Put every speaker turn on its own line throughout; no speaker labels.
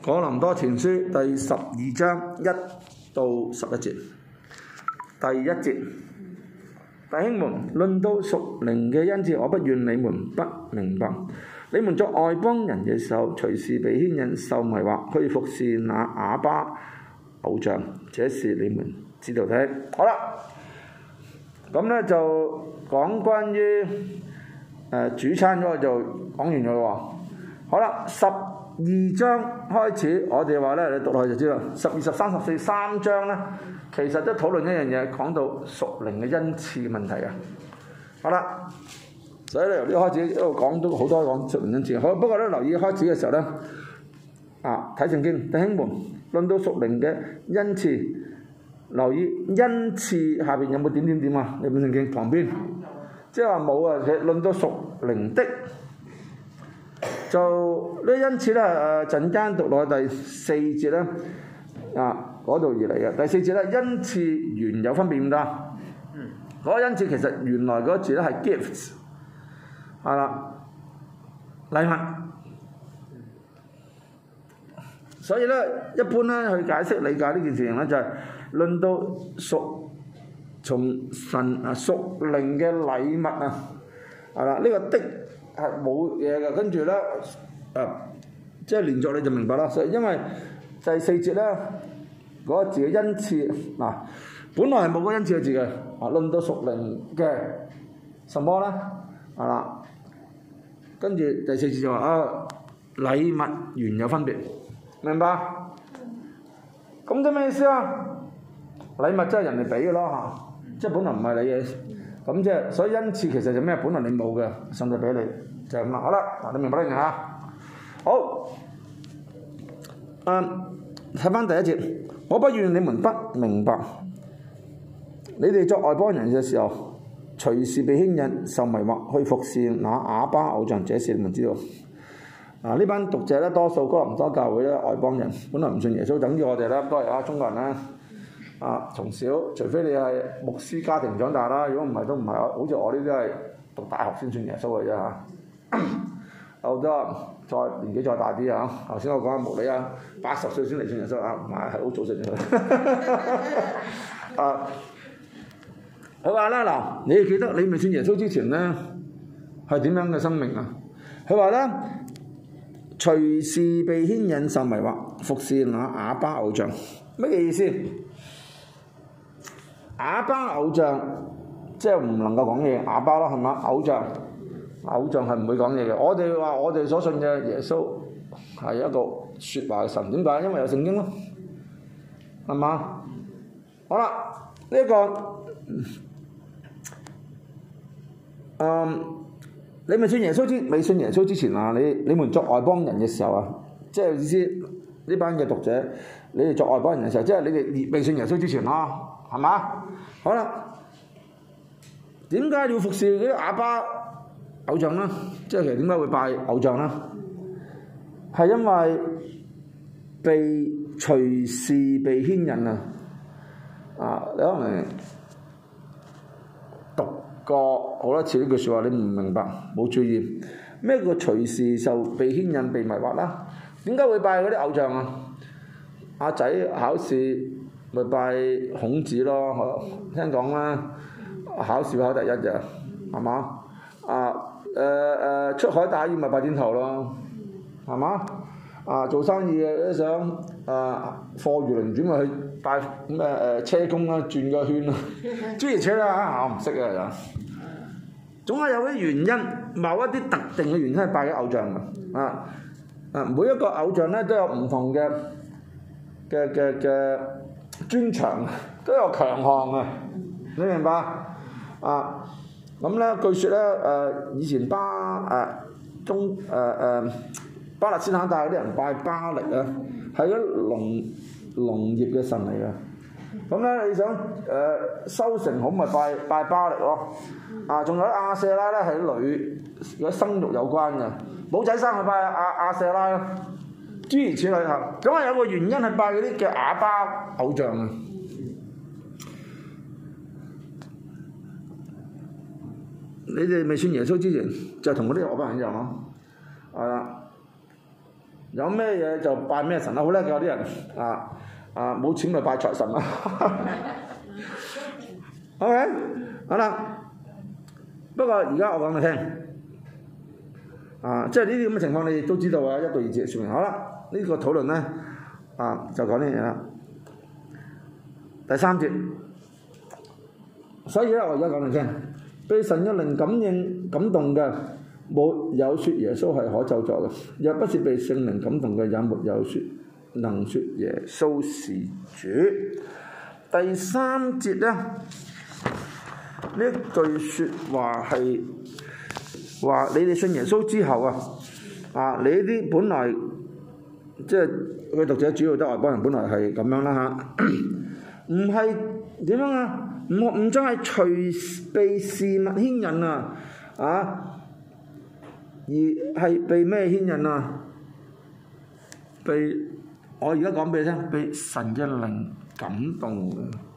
哥林多前書第12章1到11節，第1節，弟兄們，論到屬靈嘅恩賜，我不願你們不明白。你們作外邦人嘅時候，隨時被牽引受迷惑，去服侍那啞巴偶像，這是你們知道的。好啦，咁呢就講關於主餐嗰個就講完咗喎。好啦，12章開始，我哋話呢，你讀落去就知道，12、13、14 3章呢，其實都討論一樣嘢，講到屬靈嘅恩賜嘅問題啊。好啦，所以咧由呢個開始一路講都好多講屬靈恩賜。好，不過咧留意開始嘅時候咧，睇聖經，弟兄們，論到屬靈嘅恩賜，留意恩賜下邊有冇點點點啊？你本聖經旁邊，即係話冇啊。其實論到屬靈的，就呢恩賜咧陣間讀落去第4節咧嗰度而嚟嘅。第4節咧恩賜原有分別唔得？嗰個恩賜其實原來嗰個字咧係 gifts。係啦，禮物，所以咧一般咧去解釋理解呢件事情咧，就係論到從神屬靈嘅禮物啊，係啦，呢個的係冇嘢嘅，跟住咧即係連續你就明白啦。所以因為第4節咧嗰個字嘅恩賜本來係冇個恩賜嘅字嘅，論到屬靈嘅什麼咧，係啦。跟住第4節就話禮物原有分別，明白？咁即係咩意思啊？禮物即係人哋俾嘅咯，即係本來唔係你嘅，咁即係所以恩賜其實就咩？本來你冇嘅，上帝俾你就係咁啦。好啦，你明白啦嚇？好，睇翻第1節，我不願你們不明白，你哋作外邦人嘅時候，隨時被牽引受迷惑，去服侍那啞巴偶像，這事你們知道。呢班讀者咧，多數哥林多教會咧外邦人，本來唔信耶穌，等於我哋咧都係中國人啦。從小除非你係牧師家庭長大啦，如果唔係都唔係。好似我呢啲係讀大學先信耶穌嘅啫嚇。好多再年紀再大啲啊，頭先我講阿牧你80歲先嚟信耶穌唔係好早信嘅。佢話啦嗱，你哋記得你未信耶穌之前咧係點樣嘅生命啊？佢話咧，隨時被牽引受迷惑，服侍那啞巴偶像，乜嘢意思？啞巴偶像即係唔能夠講嘢，啞巴咯係嘛？偶像係唔會講嘢嘅。我哋話我哋所信嘅耶穌係一個説話嘅神，點解？因為有聖經咯，係嘛？好啦，呢個。你未信耶穌之前你們作外邦人嘅時候即係意思呢班嘅讀者，你哋作外邦人嘅時候，即係你哋未信耶穌之前係嘛？好啦，點解要服侍嗰啲啞巴偶像呢？即係其實點解會拜偶像呢？係因為隨時被牽引你可能讀過好多次呢句説話，你唔明白，冇注意咩叫隨時受被牽引、被迷惑啦？點解會拜嗰啲偶像啊？阿仔考試咪拜孔子咯，聽講啦，考試考第一嘅，係嘛？出海打魚咪拜天后咯，係嘛？做生意嘅都想貨如輪轉咪去拜車公啦，轉個圈啦，諸如此類我唔識啊，總係有啲原因，某一啲特定嘅原因係拜嘅偶像每一個偶像咧都有唔同嘅專長，都有強項你明白？咁咧據說咧以前巴勒斯坦帶嗰啲人拜巴力係嗰農業嘅神嚟嘅。咁咧你想收成好咪拜巴力咯？仲有亞舍拉咧係女嘅生育有關嘅，冇仔生去拜亞舍拉咯，諸如此類咁有個原因係拜嗰啲嘅啞巴偶像你哋未信耶穌之前，就同嗰啲外邦人一樣咯，係啦。 有咩嘢就拜咩神啦，好叻嘅有啲人冇錢咪拜財神啦。OK， 好啦。不過而家我講你聽，即係呢啲咁嘅情況，你哋都知道啊，一到二節説明。好啦，呢個討論呢，就講呢樣嘢啦。第3節，所以咧我而家講你聽，被神嘅靈感動嘅，沒有説耶穌係可咒詛嘅；若不是被聖靈感動嘅，也沒有能説耶穌是主。第3節呢，呢一句説話係話你哋信耶穌之後你啲本來即係佢讀者主要得外邦人，本來係咁樣啦唔係點樣啊？唔再係隨被事物牽引而係被咩牽引啊？我而家講俾你聽，被神嘅靈感動。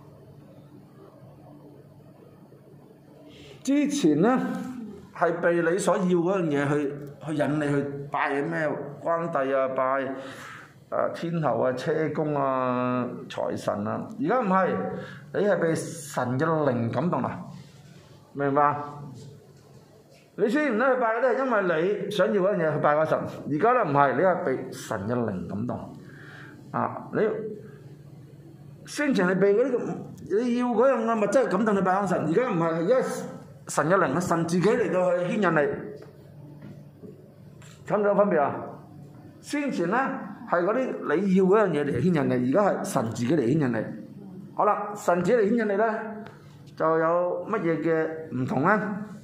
之前呢，係被你所要嗰樣嘢去引你去拜咩關帝啊，拜天后啊、車公啊、財神啊。而家唔係，你係被神嘅靈感動啦，明白？你雖然咧去拜嗰啲係因為你想要嗰樣嘢去拜嗰神，而家咧唔係，你係被神嘅靈感動。你先前係被嗰啲你要嗰樣嘅物質感動你拜嗰神，而家唔係，而家神嘅靈，神自己嚟到去牽引你，睇唔睇到分別啊？先前咧係嗰啲你要嗰樣嘢嚟牽引你，而家係神自己嚟牽引你。好啦，神自己嚟牽引你咧，就有乜嘢嘅唔同咧？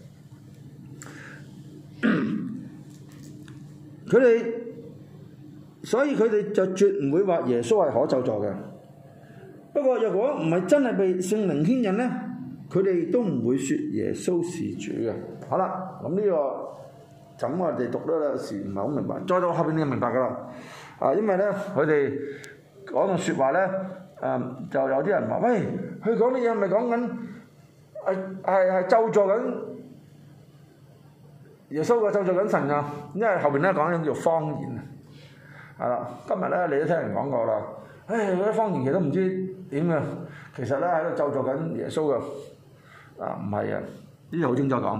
所以佢哋就絕唔會話耶穌係可咒詛嘅。不過若果唔係真係被聖靈牽引咧，佢哋都唔會説耶穌是主嘅。好啦，咁呢個咁我哋讀得有時唔係好明白，再到後邊你就明白噶啦。因為咧佢哋講嘅説話咧，就有啲人話：喂，佢講啲嘢係咪講緊係咒詛緊耶穌嘅咒詛緊神啊？因為後邊咧講緊叫方言。係啦，今日咧你都聽人講過啦。嗰啲方言其實都唔知點嘅，其實咧喺度咒詛緊耶穌嘅。唔係啊，呢度好清楚講。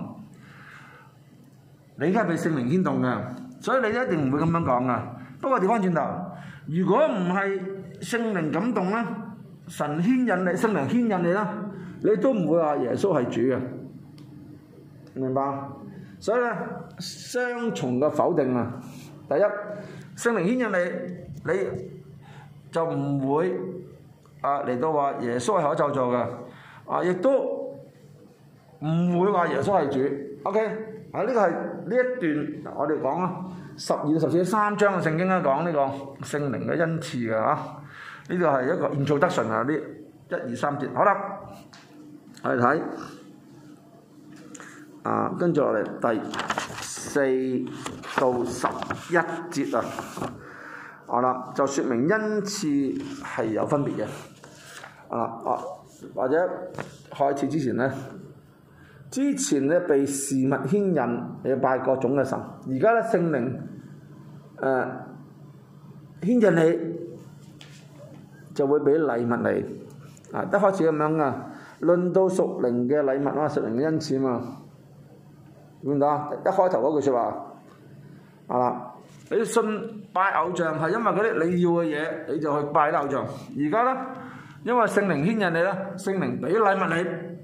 你而家係被聖靈牽動嘅，所以你一定唔會咁樣講噶。不過調翻轉頭，如果唔係聖靈感動咧，神牽引你，聖靈牽引你啦，你都唔會話耶穌係主嘅，明白？所以咧，雙重嘅否定啊。第一，聖靈牽引你就唔會嚟到話耶穌係可咒詛嘅，亦都唔會話耶穌係主。OK， 呢個係呢一段我哋講12到14 3章嘅聖經咧講呢個聖靈嘅恩賜嘅呢個係一個 introduction 呢1、2、3節。好啦，我哋睇跟住落嚟第4到11節好啦，就説明恩賜係有分別嘅。或者開始之前咧，被事物牽引，你要拜各種嘅神。而家咧聖靈牽引你，就會俾禮物你。一開始咁樣論到屬靈嘅禮物屬靈嘅恩賜嘛，見到一開頭嗰句説話你信拜偶像係因為嗰啲你要嘅嘢，你就去拜偶像。而家咧，因為聖靈牽引你咧，聖靈俾禮物你。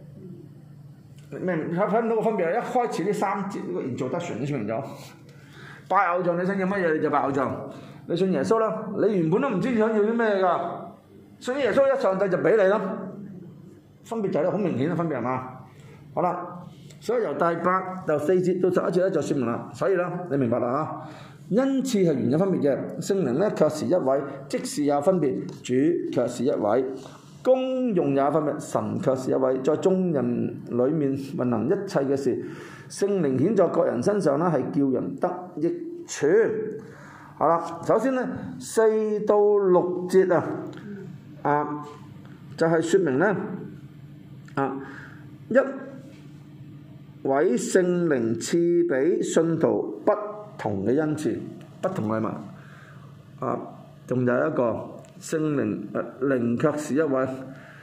睇唔到個分別？一開始呢3節呢個言做得順，説明咗拜偶像，你想要乜嘢你就拜偶像。你信耶穌啦，你原本都唔知想要啲咩㗎，信耶穌一上帝就俾你啦。分別就係好明顯嘅分別係嘛？好啦，所以由第8到4節到11節咧就説明啦。所以咧你明白啦恩賜係原有分別嘅，聖靈咧卻是一位，職事也有分別，主卻是一位，功用也有分別，神卻是一位，在眾人裡面運行一切嘅事，聖靈顯在各人身上咧係叫人得益處。好啦，首先咧4到6節就係説明咧一位聖靈賜俾信徒不同嘅恩賜，不同禮物。 仲有一個聖靈，靈卻是一位。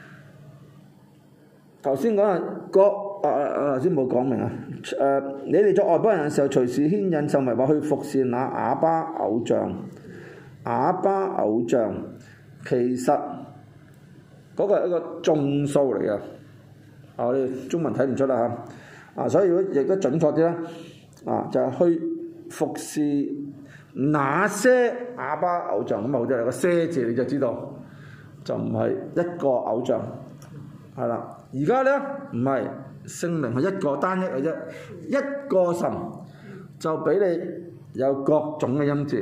頭先講係頭先冇講明啊。你哋作外邦人嘅時候，隨時牽引受迷惑去服侍那啞巴偶像。啞巴偶像其實嗰個係一個眾數嚟嘅，我哋中文睇唔出啦嚇。所以如果譯得準確啲咧，就係去服侍那些啞巴偶像，咁啊好啲，有個些字你就知道，就唔係一個偶像，係啦。而家咧唔係，聖靈係一個單一嘅啫，一個神就俾你有各種嘅恩賜，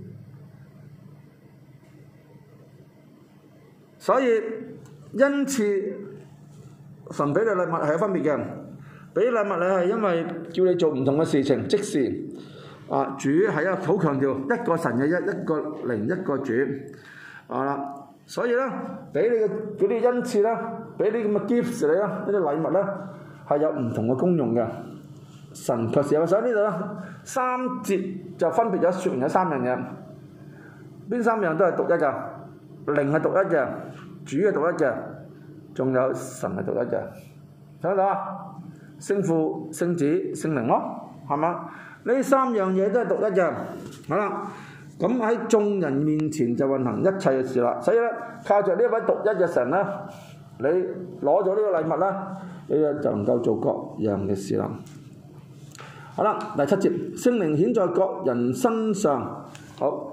所以恩賜神俾你禮物係有分別嘅。俾禮物你係因為叫你做唔同嘅事情，即是主係一個好強調一個神嘅一個靈一個主，所以咧俾你嘅嗰啲恩賜啦，俾啲咁嘅 gifts 你啦，呢啲禮物咧係有唔同嘅功用嘅。神確實有，所以呢度咧3節就分別咗説明咗3樣嘢，邊3樣都係獨一嘅，靈係獨一嘅，主係獨一嘅，仲有神係獨一嘅，睇到啊？聖父、聖子、聖靈咯，係嘛？呢3樣嘢都係獨一嘅，好啦。咁喺眾人面前就運行一切嘅事啦。所以咧，靠著呢一位獨一嘅神咧，你攞咗呢個禮物啦，你就能夠做各樣嘅事啦。好啦，第7節，聖靈顯在各人身上，好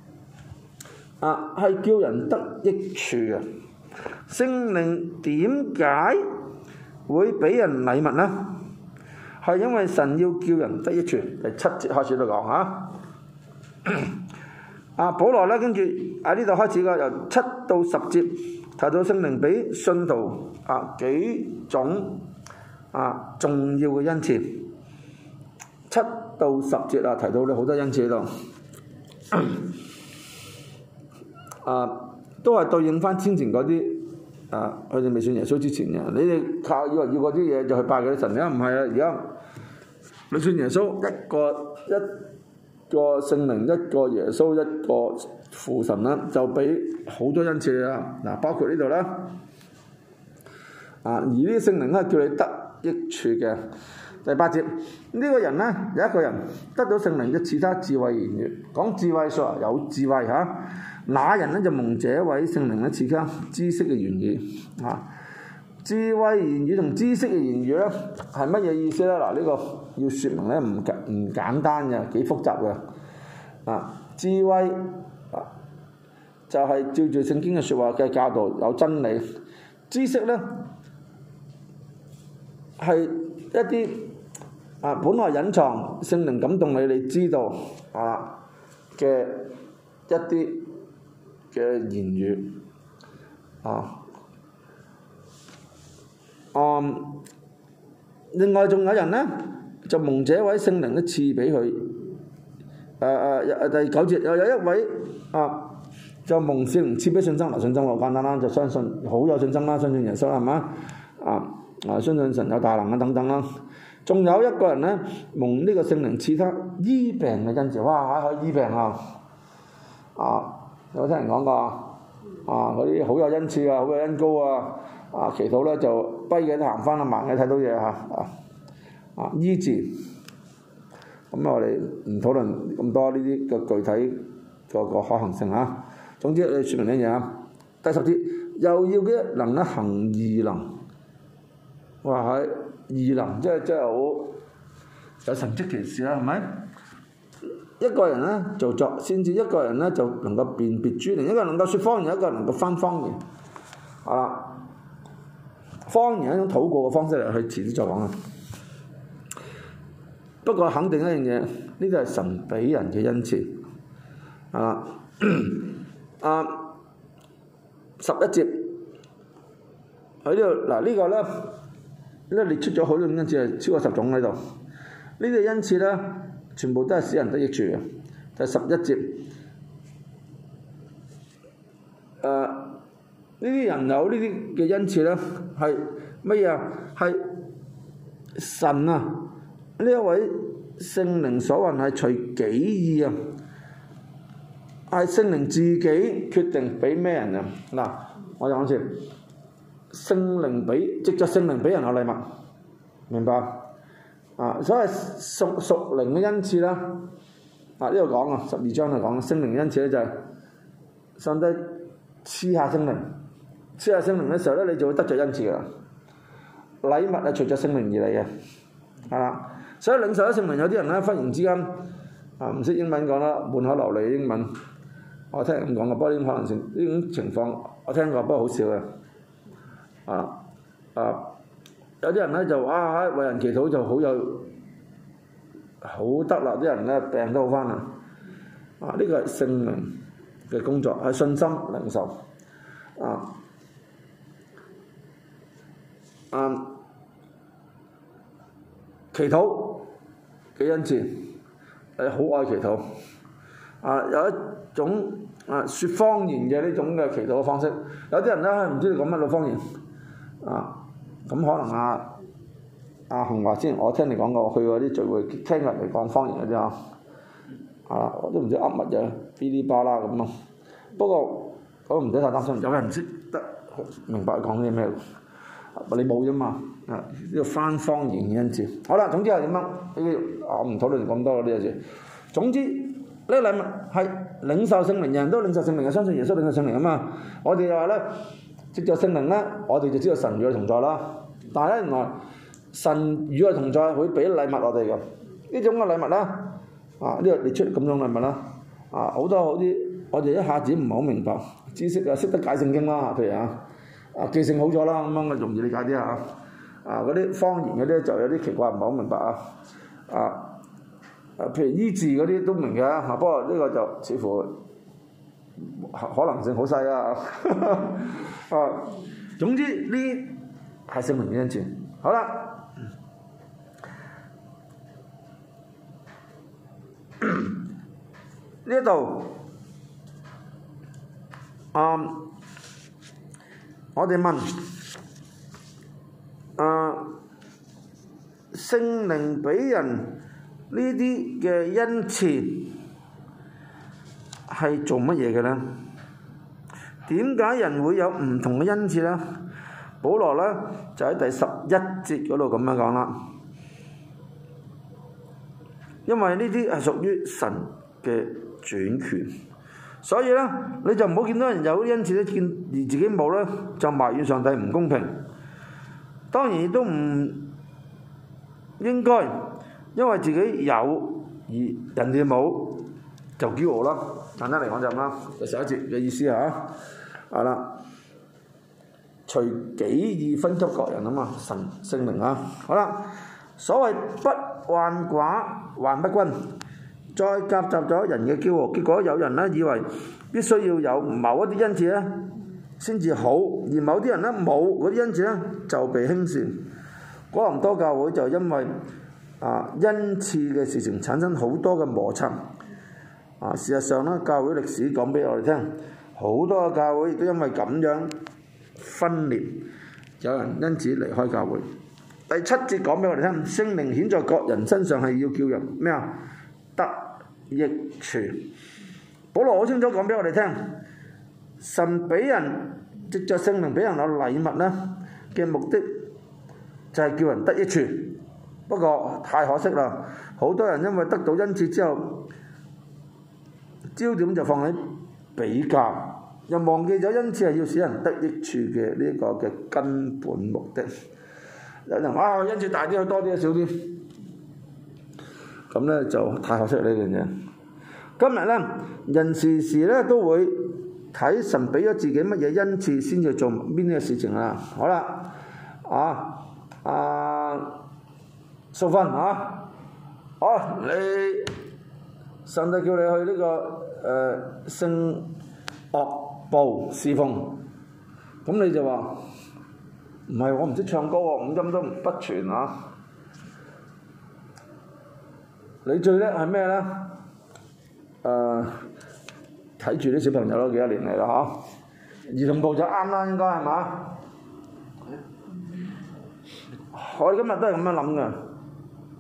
係叫人得益處嘅。聖靈點解會俾人禮物呢？係因為神要叫人得益處。第7節開始度講嚇。保羅咧跟住喺呢度開始嘅，由7到10節提到聖靈俾信徒幾種重要嘅恩賜。7到10節提到你好多恩賜喺度，都係對應翻先前嗰啲佢哋未信耶穌之前嘅。你哋以為要嗰啲嘢就去拜嗰啲神，而家唔係啊！而家你信耶穌一個聖靈，一個耶穌，一個父神啦，就俾好多恩賜啦。包括呢度啦，而呢啲聖靈咧叫你得益處嘅。第8節，呢個人咧有一個人得到聖靈，賜他智慧言語，講智慧說有智慧嚇。那人咧就蒙這位聖靈咧賜他知識嘅言語。智慧言語同知識嘅言語咧係乜嘢意思咧？呢個要説明咧唔簡單嘅，幾複雜嘅。智慧就係照住聖經嘅説話嘅教導有真理。知識咧係一啲本來隱藏聖靈感動你知道嘅一啲嘅言語另外仲有人呢，就蒙這位聖靈賜俾佢。第9節又有一位就蒙聖靈賜俾信心。信心好簡單啦，就相信，好有信心啦，相信耶穌係嘛？相信神有大能等等啦。仲有一個人呢，蒙呢個聖靈賜他醫病嘅恩賜。哇！可以醫病有聽人講過嗰啲好有恩賜好有恩膏祈禱咧就跛嘅都行翻盲嘅睇到嘢醫治。咁我哋唔討論咁多呢啲嘅具體個可行性總之你説明一樣第10節，又要嘅能咧行異能。哇！係異能，即係好有神蹟奇事啦，係咪？一個人咧就作先知，一個人咧就能夠辨別諸靈，一個人能夠説方言，一個人能夠翻方言。方言係一種禱告嘅方式嚟，去遲啲再講。不過肯定一樣嘢，呢啲係神俾人嘅恩賜。11節喺呢度呢個咧列出咗好多恩賜，係超過10種喺度。呢啲恩賜咧，全部都係使人得益處嘅。第11節，呢啲人有呢啲嘅恩賜咧，係乜嘢？係神呢一位聖靈所運係隨己意係聖靈自己決定俾咩人啊？嗱，我講一次，藉著聖靈俾人有禮物，明白？所謂屬靈嘅恩賜啦，呢度講啊，12章就講聖靈嘅恩賜咧就係上帝賜下聖靈嘅時候咧，你就會得著恩賜噶啦。禮物係隨著聖靈而嚟嘅，係啦。所以領受咗聖靈，有啲人咧忽然之間唔識英文講啦，滿口流利英文，我聽人咁講過，不過呢種可能性呢種情況我聽過，不過好少嘅。有啲人咧就為人祈禱就好得啦，啲人咧病都好翻啦。呢個係聖靈嘅工作，係信心領受。祈禱嘅恩賜，好愛祈禱。有一種説方言嘅呢種嘅祈禱嘅方式，有啲人咧唔知你講乜嘅方言。咁可能阿洪華之前我聽你講過，去嗰啲聚會聽人哋講方言嗰啲我都唔知噏乜嘢，噼哩啪啦咁咯。不過我唔使太擔心，有人唔識得明白講啲咩，你冇啫嘛。呢個翻方言嘅恩賜。好啦，總之係點樣？我唔討論咁多嗰啲嘢。總之呢個禮物係領受聖靈，人人都領受聖靈嘅，相信耶穌領受聖靈啊嘛。我哋又話咧，藉著聖靈咧，我哋就知道神與我同在啦。但係咧，原來神與我同在會俾禮物我哋嘅呢種嘅禮物啦。呢個列出咁種禮物啦。好多好啲，我哋一下子唔係好明白知識識得解聖經啦。譬如記性好咗啦，咁樣容易理解啲嗰啲方言嗰啲就有啲奇怪，唔係好明白譬如醫治嗰啲都明嘅，不過呢個就似乎可能性好細總之呢係聖靈嘅恩賜。好啦，呢度我哋問聖靈俾人呢啲嘅恩賜係做乜嘢嘅呢？點解人會有唔同嘅恩賜呢？保羅呢就喺第11節嗰度咁樣講啦，因為呢啲係屬於神嘅主權，所以呢你就唔好見到人有啲恩賜咧，而自己冇呢，就埋怨上帝唔公平。當然亦都唔應該因為自己有而人哋冇就驕傲啦。簡單嚟講就咁啦。第11節嘅意思係啦，隨己意分給各人啊嘛，神聖靈好啦，所謂不患寡患不均，再夾雜咗人嘅驕傲，結果有人呢以為必須要有某一啲恩賜呢先至好，而某啲人呢冇嗰啲恩賜呢就被輕視。哥林多教會就因為恩賜嘅事情產生好多嘅摩擦。事實上呢，教會歷史講俾我哋聽，好多嘅教會亦都因為咁樣分裂，有人因此離開教會。第7節講俾我哋聽，聖靈顯在各人身上係要叫人咩得益處。保羅好清楚講俾我哋聽，神俾人藉著聖靈俾人有禮物呢嘅目的就係叫人得益處。不過太可惜啦，好多人因為得到恩賜之後，焦點就放喺比較，又忘記咗恩賜係要使人得益處嘅呢個嘅根本目的。有人話恩賜大啲，多啲，少啲，咁呢就太可惜呢樣嘢。今日呢，人時時呢都會睇神俾咗自己乜嘢恩賜先至做邊啲嘅事情啦。好啦，素芬好，你上帝叫你去呢個聖樂部侍奉，咁你就話唔係，我唔識唱歌喎，五音都不全你最叻係咩呢？睇住啲小朋友都幾多年嚟啦兒童部就啱啦，應該係嘛？我哋今日都係咁樣諗嘅。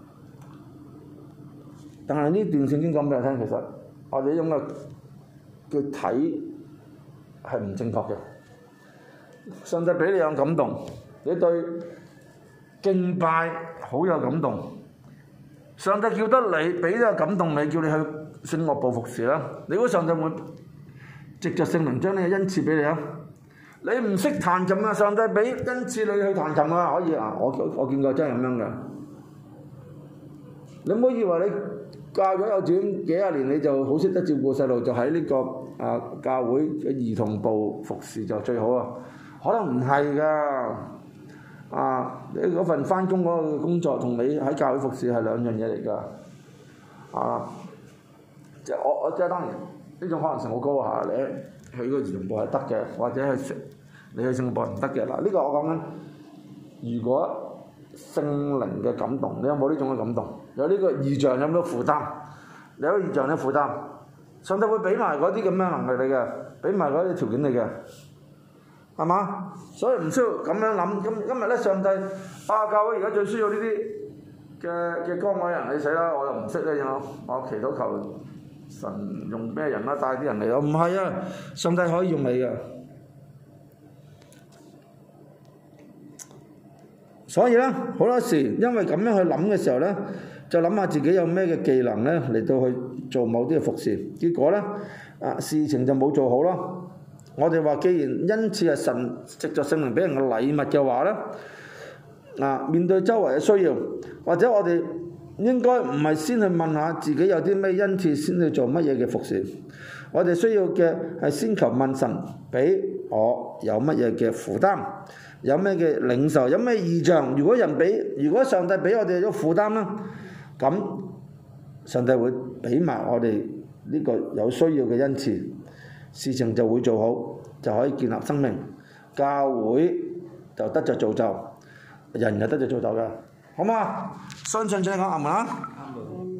但係呢段聖經講俾我聽，其實我哋呢種嘅嘅睇係唔正確嘅。上帝俾你有感動，你對敬拜好有感動，上帝叫得你俾咗感動你，叫你去聖樂部服侍啦。你估上帝會藉着聖靈將呢個恩賜俾你啊？你唔識彈琴啊，上帝俾恩賜你去彈琴啊，可以啊？我見過真係咁樣嘅。你唔好以為你教咗幼稚園幾廿年，你就好識得照顧細路，就喺呢個教會嘅兒童部服侍就最好啊！可能唔係㗎。你嗰份返工嗰個工作同你喺教會服侍係兩樣嘢嚟㗎。即係我即係當然呢種可能性好高嚇，你去個兒童部係得嘅，或者你去聖樂部唔得嘅。嗱，呢個我講緊，如果聖靈嘅感動，你有冇呢種嘅感動？有呢個異象，有冇負擔？你有異象有負擔，上帝會俾埋嗰啲咁樣能力你嘅，俾埋嗰啲條件你嘅，係嘛？所以唔需要咁樣諗。今日咧，上帝教會而家最需要呢啲嘅崗位人，你死啦！我又唔識咧，我祈禱求神用咩人啦，帶啲人嚟咯。唔係啊，上帝可以用你嘅。所以咧，好多時因為咁樣去諗嘅時候咧，就諗下自己有咩嘅技能咧嚟到去做某啲嘅服侍，結果咧事情就冇做好咯。我哋話，既然恩賜係神藉着聖靈俾人嘅禮物嘅話咧，面對周圍嘅需要，或者我哋應該唔係先去問下自己有啲咩恩賜先去做乜嘢嘅服侍，我哋需要嘅係先求問神俾我有乜嘢嘅負擔，有咩嘅領受，有咩異象。如果上帝俾我哋咗負擔啦，咁上帝會俾埋我哋呢個有需要嘅恩賜，事情就會做好，就可以建立生命，教會就得着造就，人又得着造就嘅，好嘛？相信請講阿門啊！